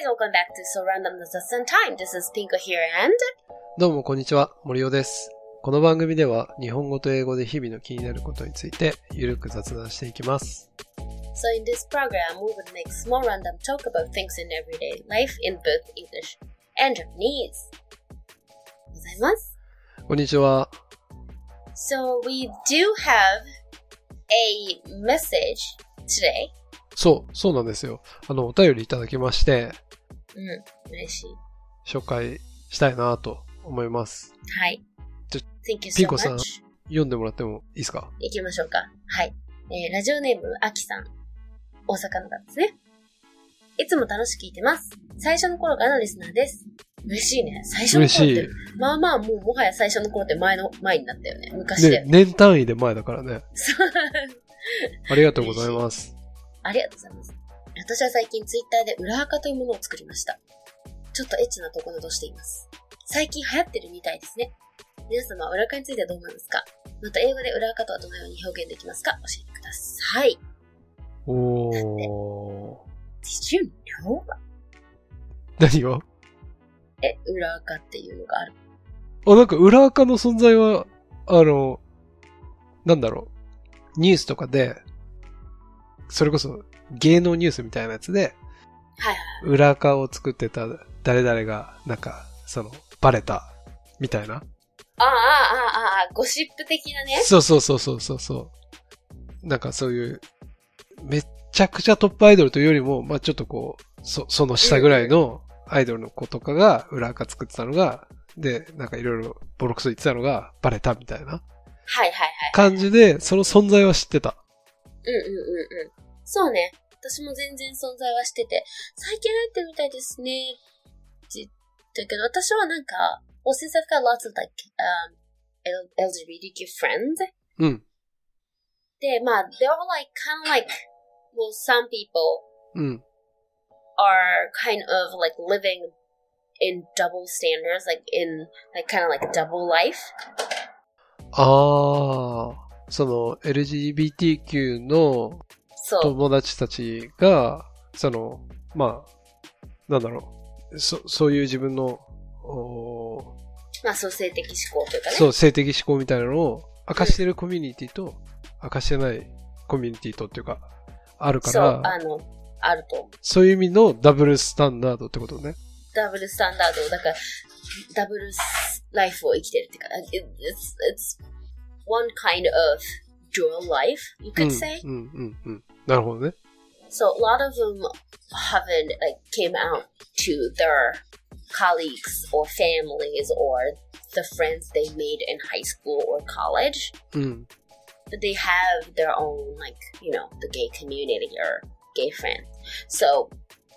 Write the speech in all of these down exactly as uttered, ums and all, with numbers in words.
welcome back to So Random雑談 Time. This is Pinko here and... どうもこんにちは、森尾です。この番組では日本語と英語で日々の気になることについてゆるく雑談していきます。 So in this program, we would make small random talk about things in everyday life in both English and Japanese. ございます。 こんにちは。 So we do have a message today. そう、そうなんですよ。あの、お便りいただきまして、 うん、嬉しい。 紹介したいなと思います。 はい。 じゃ、 Thank you so much. ピンコさん、読んでもらってもいいですか？ 行きましょうか。はい。えー、ラジオネーム、あきさん。大阪の方ですね。いつも楽しく聞いてます。最初の頃からのリスナーです。嬉しいね。最初の頃って。まあまあ、もうもはや最初の頃って前の、前になったよね。昔で。 ね、年単位で前だからね。ありがとうございます。 ありがとうございます。私は最近ツイッターで裏垢というものを作りました。ちょっとエッチなところとしています。最近流行ってるみたいですね。皆様は裏垢についてはどう思いますか？また英語で裏垢とはどのように表現できますか？教えてください。 おー。 Did you know? 何が？ え、裏垢っていうのがある。 あ、なんか裏垢の存在は、あの、なんだろう。ニュースとかで、それこそ芸能ニュースみたいなやつで、 はいはい。 裏垢を作ってた誰々が、なんか、その、バレた、みたいな。 ああ、ああ、ああ、ゴシップ的なね。 そうそうそうそうそうそう。なんかそういう、めっちゃくちゃトップアイドルというよりも、まあちょっとこう、そ、その下ぐらいのアイドルの子とかが裏垢作ってたのが、で、なんかいろいろボロクソ言ってたのがバレたみたいな。 はいはいはい。 感じで、その存在は知ってた。 うんうんうんうん。そうね。私も全然存在はしてて、最近入ってるみたいですね。って言ったけど、私はなんか、well, since I've got lots of like, um, L G B T Q friends. うん。 で、まあ、they're all like, kind of like, well, some people うん。 are kind of like living in double standards, like in, like kind of like double life. ああ、その エルジービーティーキュー の友達たちが、その、まあ、なんだろう、そ、そういう自分の、おまあ、そう性的思考というかね。 そう、性的思考みたいなのを明かしてるコミュニティと、うん、明かしてないコミュニティとっていうか、あるから、 そう、あの、あると思う。 そういう意味のダブルスタンダードってことね。 ダブルスタンダード、だから、ダブルライフを生きてるっていうか、it's, it's one kind of dual life, you could say. うん、うん、うん、うん。なるほどね。 So, a lot of them haven't, like, came out to their colleagues or families or the friends they made in high school or college. うん。 But they have their own, like, you know, the gay community or gay friends. So,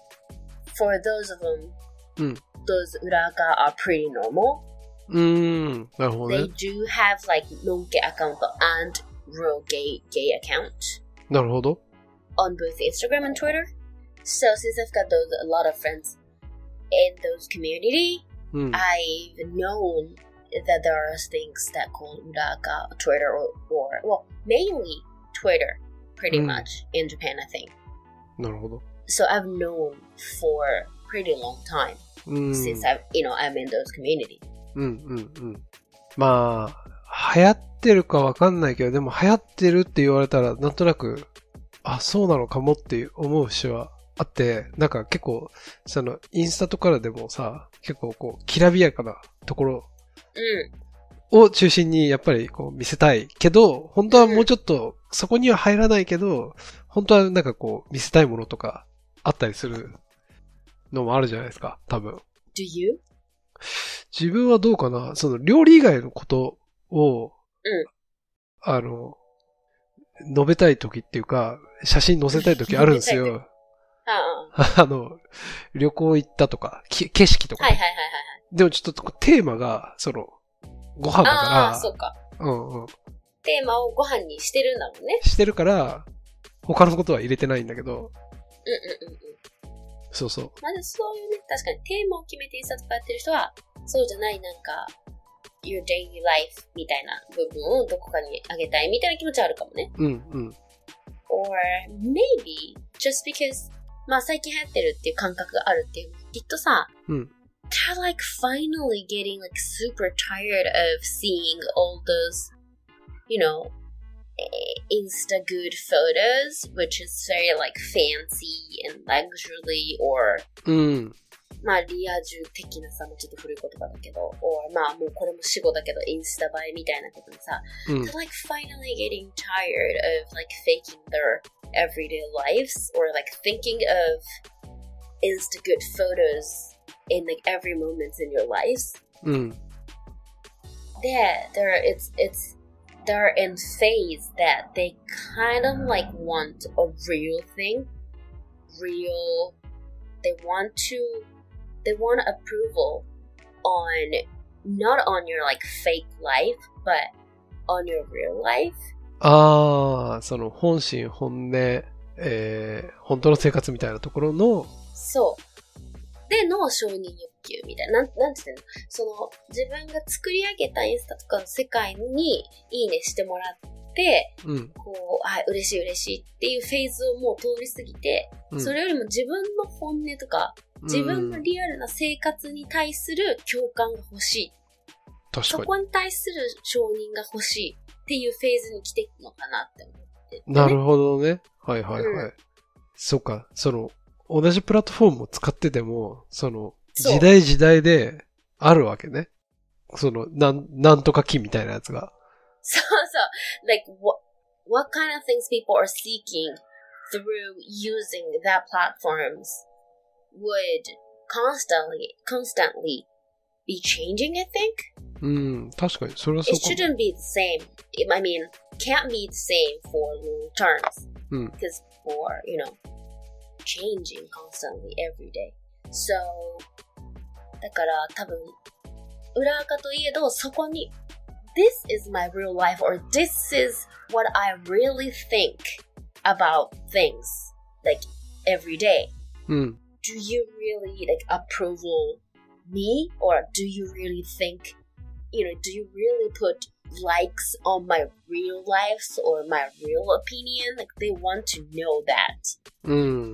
for those of them, うん。 those 裏垢 are pretty normal. うーん。なるほどね。 They do have, like, non-gay account and real gay, gay account. なるほど。 On both Instagram and Twitter. So, since I've got those, a lot of friends in those community, うん。 I've known that there are things that call 裏垢 Twitter or, or, well, mainly Twitter, pretty、うん、much in Japan, I think. なるほど。 So, I've known for a pretty long time、うん、since I've, you know, I'm in those community. うんうんうん。まあ、流行ってるかわかんないけど、でも流行ってるって言われたら、なんとなく、あ、そうなのかもって思う節はあって、なんか結構、その、インスタとかでもさ、結構こう、きらびやかなところを中心にやっぱりこう見せたいけど、本当はもうちょっと、そこには入らないけど、本当はなんかこう、見せたいものとかあったりするのもあるじゃないですか、多分。 Do you? 自分はどうかな、その料理以外のことを、 うん、 あの、述べたい時っていうか、写真載せたい時あるんですよ。あの、旅行行ったとか、景色とか、ね。はいはいはいはい。でもちょっとテーマが、その、ご飯だから。 ああ、そうか。 うんうん。 テーマをご飯にしてるんだもんね。 してるから、他のことは入れてないんだけど。 うんうんうんうん。 そうそう。 まあそういうね、確かにテーマを決めてインスタとかやってる人は、そうじゃないなんか、your daily life みたいな部分をどこかにあげたいみたいな気持ちはあるかもね。 うんうん。 Or maybe just because まあ最近流行ってるっていう感覚があるっていうのきっとさ、 うん。 they're like finally getting like super tired of seeing all those, you know, Insta good photos, which is very like fancy and luxury or うん。 まあリア充的なさ、もうちょっと古い言葉だけど、or まあもうこれも死語だけど、インスタ映えみたいなことにさ、 うん。 they're like finally getting tired of like faking their everyday lives or like thinking of Insta good photos in like every moment in your lives. うん。 で、they're, it's, it's, they're in phase that they kind of like want a real thing, real, they want to, they want approval on, not on your like fake life, but on your real life. ああ、その本心本音、えー、本当の生活みたいなところの、 そう。での承認欲求みたいな。なん、なんて言うの？その、自分が作り上げたインスタとかの世界にいいねしてもらって、 うん、 こう、あ、嬉しい嬉しいっていうフェーズをもう通り過ぎて、うん、それよりも自分の本音とか、自分のリアルな生活に対する共感が欲しい。 確かに。 そこに対する承認が欲しいっていうフェーズに来てるのかなって思って、ね。 なるほどね。はいはいはい。うん、そうか、その、同じプラットフォームを使ってても、その、時代時代であるわけね。その、なん、なんとか機みたいなやつが。 そうそう。like, what, what kind of things people are seeking through using that platforms would constantly, constantly be changing, I think? うん、確かに、それはそうかも。 It shouldn't be the same. I mean, can't be the same for long terms. うん。 Because for, you know, changing constantly every day. So, だから多分、裏垢といえど、そこに、This is my real life or this is what I really think about things, like, every day. うん。 Do you really, like, approval me? Or do you really think, you know, do you really put likes on my real lives or my real opinion? Like, they want to know that. うん。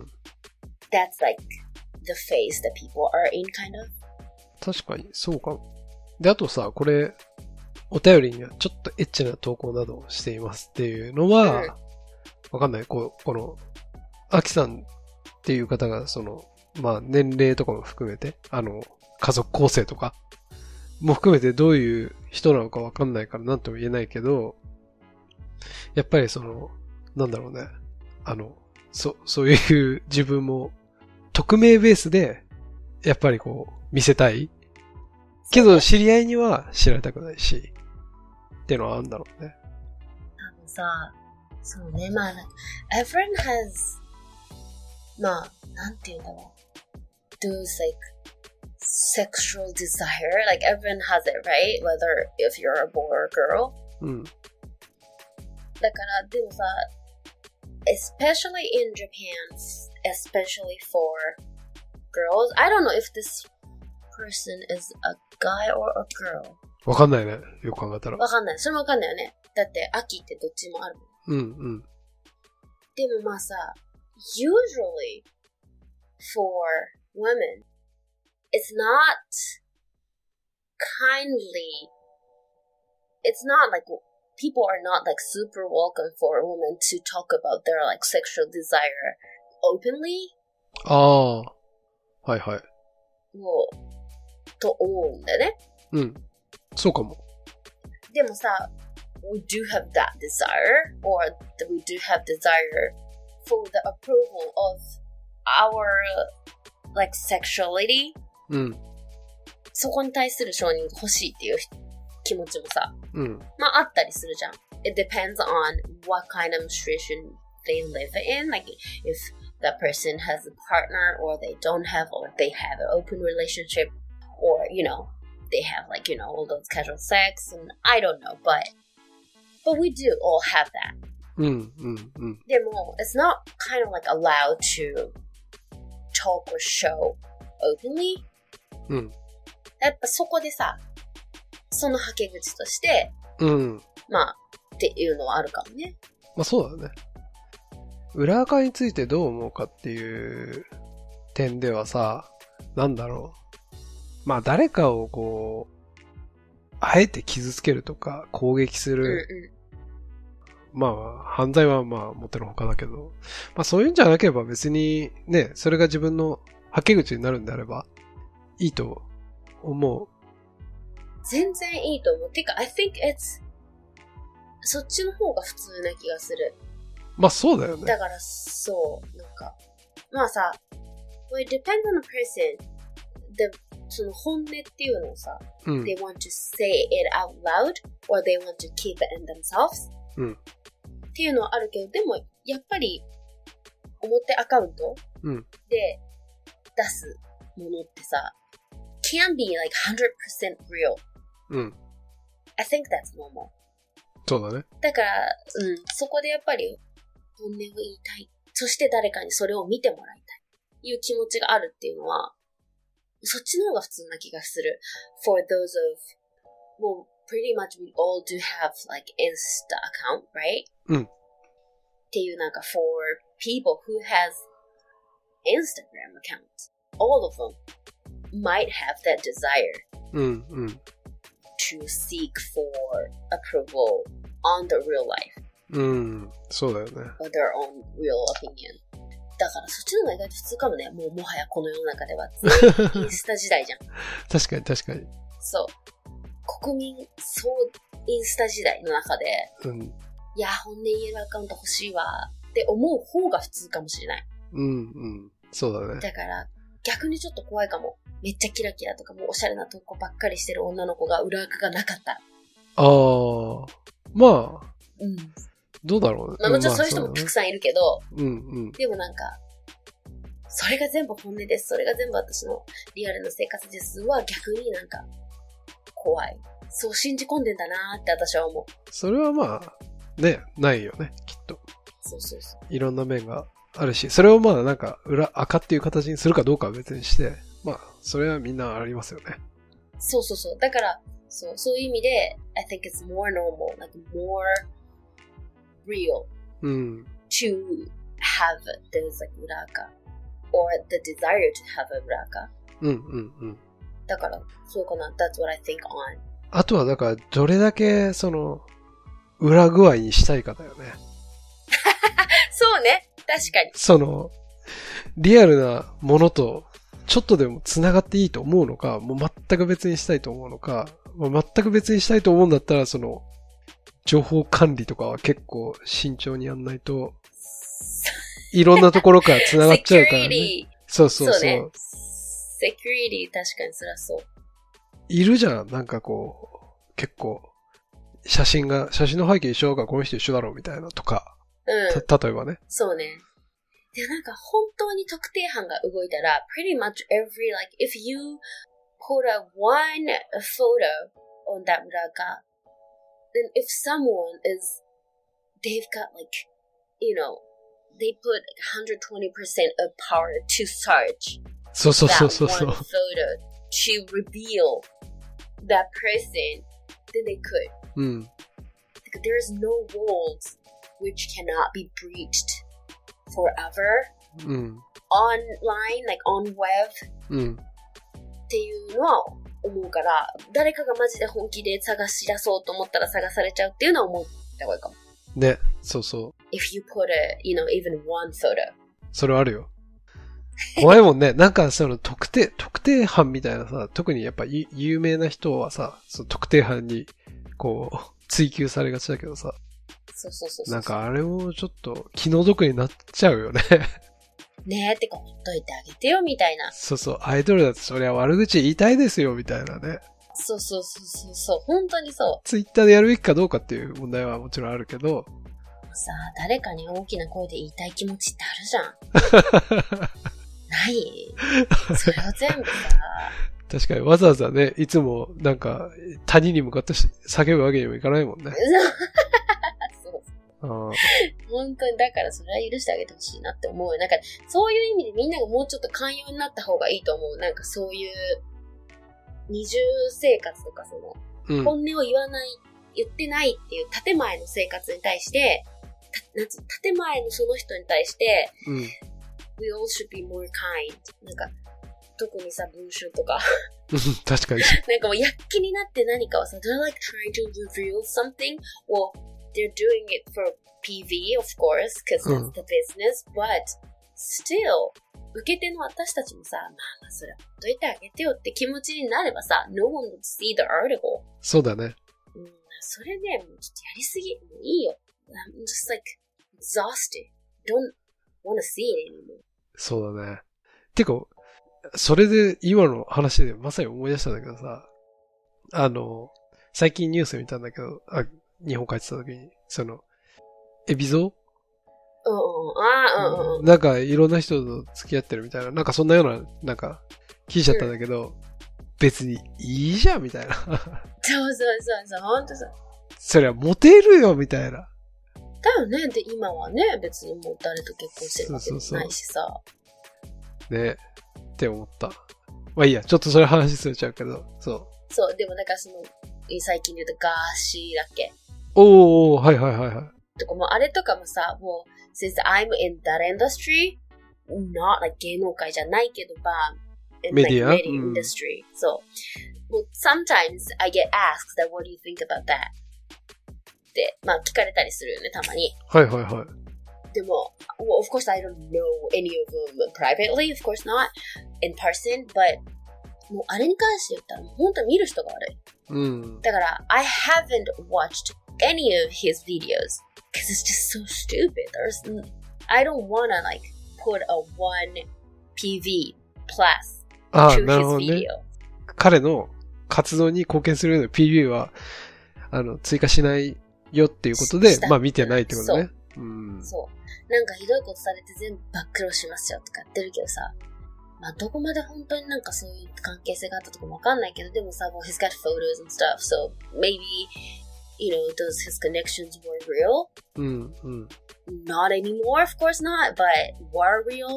That's like the phase that people are in, kind of. 確かに、そうかも。で、あとさ、これ、お便りにはちょっとエッチな投稿などをしていますっていうのは、わ、うん、かんない。こう、この、アキさんっていう方が、その、まあ、年齢とかも含めて、あの、家族構成とかも含めてどういう人なのかわかんないからなんとも言えないけど、やっぱりその、なんだろうね。あの、そ、そういう自分も、匿名ベースで、やっぱりこう、見せたい。けど、知り合いには知られたくないし、っていうのはあるんだろうね。 多分さ、そうね、まあ、everyone has, まあ、なんて言うんだろう。those like, sexual desire, like everyone has it, right? Whether if you're a boy or a girl. うん。 だから、でもさ、especially in Japan, especially for girls, I don't know if this person is a guy or a girl. わかんないね。よく考えたら。 わかんない。それもわかんないよね。だって、秋ってどっちもあるもん。 うんうん。 でもまあさ、usually for women, it's not kindly, it's not like, people are not like super welcome for a woman to talk about their like sexual desire openly. ああ。はいはい。 もう、と思うんだよね。 うん。そうかも。 でもさ、we do have that desire, or we do have desire for the approval of our, like, sexuality. うん。 そこに対する承認が欲しいっていう気持ちもさ、 うん。 まああったりするじゃん。It depends on what kind of situation they live in. Like, if that person has a partner, or they don't have, or they have an open relationship, or, you know, they have like, you know, all those casual sex, and I don't know, but, but we do all have that. うん、うん、うん。 でも、it's not kind of like allowed to talk or show openly. うん。 やっぱそこでさ、そのはけ口として、 うん。 まあ、っていうのはあるかもね。 まあそうだね。 裏垢についてどう思うかっていう点ではさ、なんだろう。まあ誰かをこう、あえて傷つけるとか攻撃する。 うんうん、 まあ犯罪はまあもってのほかだけど、まあそういうんじゃなければ別にね、それが自分のはけ口になるんであればいいと思う。 全然いいと思う。てか、I think it's そっちの方が普通な気がする。 まあそうだよね。 だからそう、なんか、まあさ、well, it depends on the person. で、その本音っていうのをさ、 うん、 they want to say it out loud or they want to keep it in themselves、 うん、 っていうのはあるけど、でもやっぱり表アカウントで出すものってさ、can be like one hundred percent real. うん。 I think that's normal. そうだね。 だから、うん、そこでやっぱり本音を言いたい。そして誰かにそれを見てもらいたい。いう気持ちがあるっていうのは、そっちの方が普通な気がする。For those of, well, pretty much we all do have like Insta account, right? うん。 っていうなんか for people who has Instagram account, all of them might have that desire うんうん。 to seek for approval on the real life. うん、そうだよね。 or their own real opinion. だからそっちの方が意外と普通かもね。もうもはやこの世の中では全員インスタ時代じゃん。 確かに確かに。 そう。国民総インスタ時代の中で、 うん、 いや、本音言えるアカウント欲しいわって思う方が普通かもしれない。 うんうん。そうだね。 だから逆にちょっと怖いかも。めっちゃキラキラとかもうおしゃれな投稿ばっかりしてる女の子が裏垢がなかった。ああ、まあ、 うん。 どうだろうね。 まあもちろんそういう人もたくさんいるけど、 まあ、うんうん。 でもなんか、それが全部本音です。それが全部私のリアルな生活ですは逆になんか怖い。そう信じ込んでんだなーって私は思う。 それはまあ、ね、ないよね、きっと。 そうそうそう。 いろんな面があるし、それをまあなんか裏垢っていう形にするかどうかは別にして、まあ、それはみんなありますよね。 そうそうそう。だから、そう、そういう意味で、I think it's more normal, like more real、 うん、 to have those like 裏垢 or the desire to have a 裏垢。 うんうんうん。 だから、そうかな。That's what I think on. あとはだから、どれだけその、裏具合にしたいかだよね。 そうね。確かに。 その、リアルなものと、ちょっとでも繋がっていいと思うのか、もう全く別にしたいと思うのか、もう全く別にしたいと思うんだったら、その、情報管理とかは結構慎重にやんないと、いろんなところから繋がっちゃうからね。そうそうそう。そうね。 セキュリティ確かにそりゃそう。 いるじゃん、なんかこう、結構、写真が、写真の背景一緒だからこの人一緒だろうみたいなとか。 うん。 た、例えばね。 そうね。で、なんか本当に特定班が動いたら、pretty much every, like, if you put a one photo on that 裏垢 then if someone is, they've got like, you know, they put like one hundred twenty percent of power to search そうそうそうそう that one photo to reveal that person, then they could. うん。 There's no walls which cannot be breached forever. うん。 online, like on web. うん。 っていうのは思うから、誰かがマジで本気で探し出そうと思ったら探されちゃうっていうのは思った方がいいかも。 ね、そうそう。 If you put a, you know, even one photo. それはあるよ。怖いもんね。なんかその特定、特定班みたいなさ、特にやっぱ有名な人はさ、その特定班にこう追求されがちだけどさ。 そうそうそうそう。 なんかあれもちょっと気の毒になっちゃうよね。 ねえ、てかほっといてあげてよみたいな。 そうそう、アイドルだとそりゃ悪口言いたいですよみたいなね。 そうそうそうそうそう、本当にそう。 ツイッターでやるべきかどうかっていう問題はもちろんあるけど。 さあ、誰かに大きな声で言いたい気持ちってあるじゃん。ないそれを全部さ。 確かにわざわざね、いつもなんか谷に向かって叫ぶわけにもいかないもんね。 そうあ本当にだからそれは許してあげてほしいなって思う。なんかそういう意味でみんながもうちょっと寛容になった方がいいと思う。なんかそういう二重生活とかその、うん、本音を言わない、言ってないっていう建前の生活に対してなんつう、建前のその人に対して、 うん。 We all should be more kind. なんか、特にさ、文春とか。 確かに。 なんかもう躍起になって何かをさ、they're like trying to reveal something. Well, they're doing it for ピーブイ, of course, because that's the business. But still, 受け手の私たちもさ、まあまあそれほっといてあげてよって気持ちになればさ、no one would see the article. そうだね。 うん、それね、もうちょっとやりすぎ。もういいよ。I'm just like exhausted. Don't wanna see it anymore. そうだね。てか、それで今の話でまさに思い出したんだけどさ、あの、最近ニュース見たんだけど、あ、日本帰ってた時に、その、エビゾうんうん、ああ、うんうん。 なんかいろんな人と付き合ってるみたいな、なんかそんなような、なんか、聞いちゃったんだけど、うん、別にいいじゃんみたいな。そうそうそうそう、ほんとそう。 そりゃモテるよみたいな。 だよね。で、今はね、別にもう誰と結婚してるわけじゃないしさ。そうそうそうねって思った。まあいいや、ちょっとそれ話すれちゃうけど、そう。 そう、でもなんかその、最近で言うとガーシーだっけ？ おー、はいはいはいはい。 とかもうあれとかもさ、もう、since I'm in that industry, not like 芸能界じゃないけど、まあ、in メディア、 like media industry. そう。もう sometimes I get asked that what do you think about that? って、まあ聞かれたりするよね、たまに。 はいはいはい。 でも、well, of course I don't know any of them privately, of course not in person, but もうあれに関して言ったら本当に見る人が悪い。 うん。 だから、I haven't watched any of his videos because it's just so stupid. There's, I don't wanna like put a one ピーブイ plus ああ、 to なるほ his どね。 video. 彼の活動に貢献するような ピーブイ は、あの、追加しないよっていうことで、まあ見てないってことね。 そう。 うん、 そう。なんかひどいことされて全部暴露しますよとかやってるけどさ、まあどこまで本当になんかそういう関係性があったとかもわかんないけど、でもさ、もう he's got photos and stuff, so maybe, you know, those his connections were real? うんうん。 Not anymore, of course not, but were real?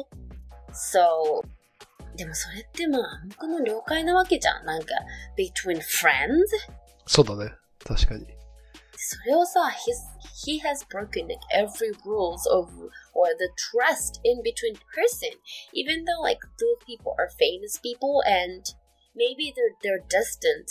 So, でもそれってまあ暗黙の了解なわけじゃん。なんか、between friends? そうだね。確かに。 それをさ、he has broken like every rules of or the trust in between person, even though like those people are famous people and maybe they're they're destined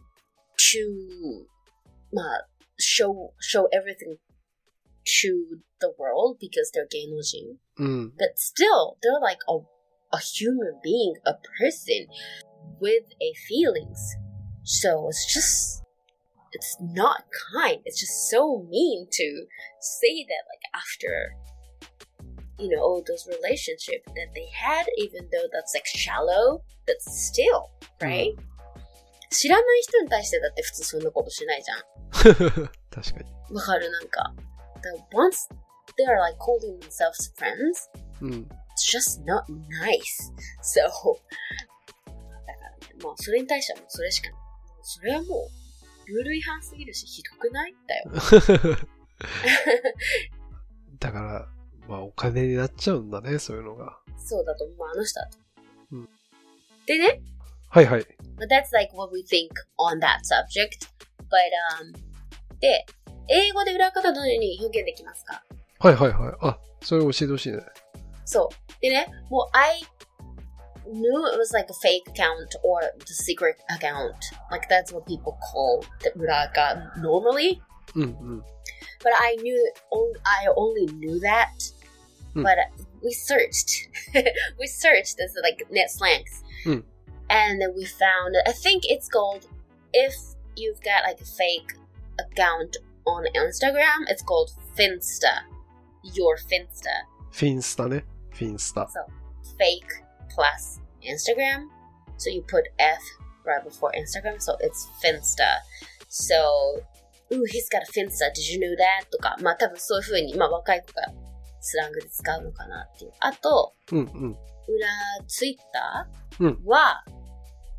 to まあ show show everything to the world because they're 芸能人。 うん。 But still, they're like a a human being, a person with a feelings. So it's just.It's not kind. It's just so mean to say that, like, after, you know, all those relationships that they had, even though that's, like, shallow, but still, right? 知らない人に対してだって普通そんなことしないじゃん。 確かに。 わかるなんか。Once they are, like, calling themselves friends, うん、 it's just not nice. So, だからね、まあ、それに対してはもうそれしかない。それはもう、ルール違反すぎるし、ひどくないだよ。 だから、まあお金になっちゃうんだね、そういうのが。 そうだと思う、あの人だと。 うん、 でね。 はいはい。 But that's like what we think on that subject. But, um, で、英語で裏方どのように表現できますか？ はいはいはい。あ、それ教えてほしいね。 そう。でね、もう I knew it was like a fake account or the secret account. Like that's what people call the 裏垢 normally. うんうん。 But I knew, I only knew that. うん、 But we searched. we searched as like net slangs. うん。 And then we found, I think it's called, if you've got like a fake account on Instagram, it's called Finsta. Your Finsta. フィンスタね。フィンスタ。 So, fake plus Instagram. So you put F right before Instagram. So it's Finsta. So, ooh, he's got a Finsta. Did you know that? とか、まあ多分そういう風に、まあ若い子がスラングで使うのかなっていう。あと、 うんうん。 裏ツイッターは、うん、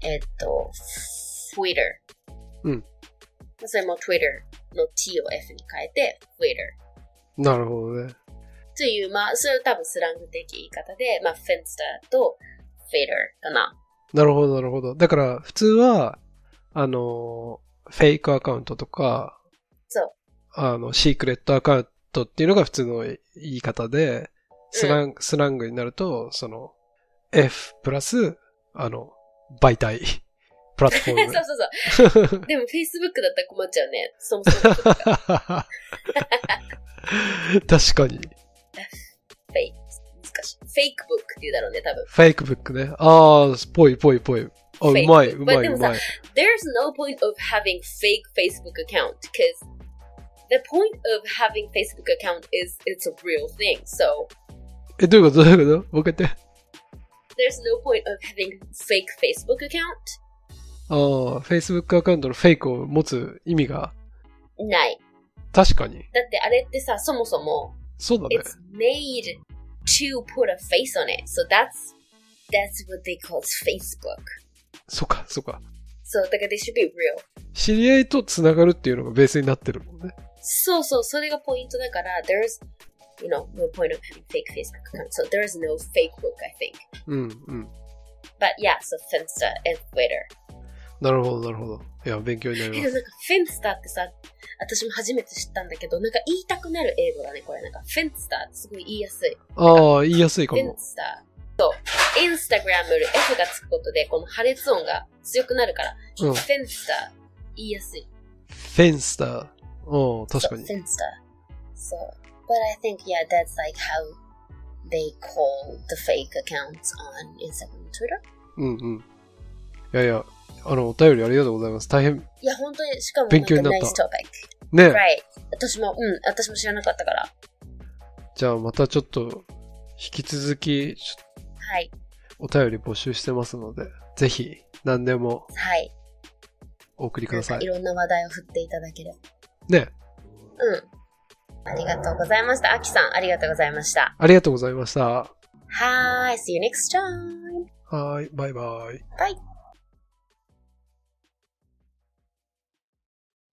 えっと、Twitter。 うん。 それも Twitter の T を F に変えて、Twitter。 なるほどね。 という、まあ、それ多分スラング的言い方で、まあ、Finsta と Twitter かな。 なるほど、なるほど。だから、普通は、あの、フェイクアカウントとか、 そう。 あの、シークレットアカウントっていうのが普通の言い方で、スラング、スラングになると、その、F プラス、あの、媒体、プラットフォーム。 そうそうそう。でも Facebook だったら困っちゃうね。そもそも。 確かに。 フェイク。難しい。フェイクブックって言うだろうね、多分。 フェイクブックね。ああ、ぽいぽいぽい。あ、うまい、うまい、うまい。 There's no point of having fake Facebook account because the point of having Facebook account is it's a real thing. So え、どういうことどういうこともう一回言って。 There's no point of having fake Facebook account. ああ、Facebook アカウントのフェイクを持つ意味がない。 確かに。 だってあれってさ、そもそもそうだね。 It's made to put a face on it. So that's that's what they call Facebook. そうか、そうか。 そう、だから they should be real. 知り合いとつながるっていうのがベースになってるもんね。 そうそう、それがポイントだから、there's, you know, no point of having fake Facebook account. So there is no fake book, I think. うん、うん。 But yeah, so Finsta and Twitter. なるほど、なるほど。いや、勉強になります。 なんか、フィンスターってさ、私も初めて知ったんだけど、なんか言いたくなる英語だね、これ。なんか、フィンスターってすごい言いやすい。 ああ、言いやすいかも。 フィンスター。そう。インスタグラムより F がつくことで、この破裂音が強くなるから、 うん、 フィンスター言いやすい。 フェンスター。おー、確かに。 フィンスター。そう。But I think, yeah, that's like how they call the fake accounts on Instagram and Twitter. うんうん。いやいや、あの、お便りありがとうございます。大変。 いや、本当に、しかも、 勉強になった。 ナイストピック。 ね。 Right. 私も、うん、私も知らなかったから。 じゃあ、またちょっと、引き続き、 はい。 お便り募集してますので、ぜひ、何でも、 はい。 お送りください。 いろんな話題を振っていただければ。 ね。 うん。ありがとうございました。アキさん、ありがとうございました。 ありがとうございました。 はーい。See you next time. はーい。バイバイ。 バイ。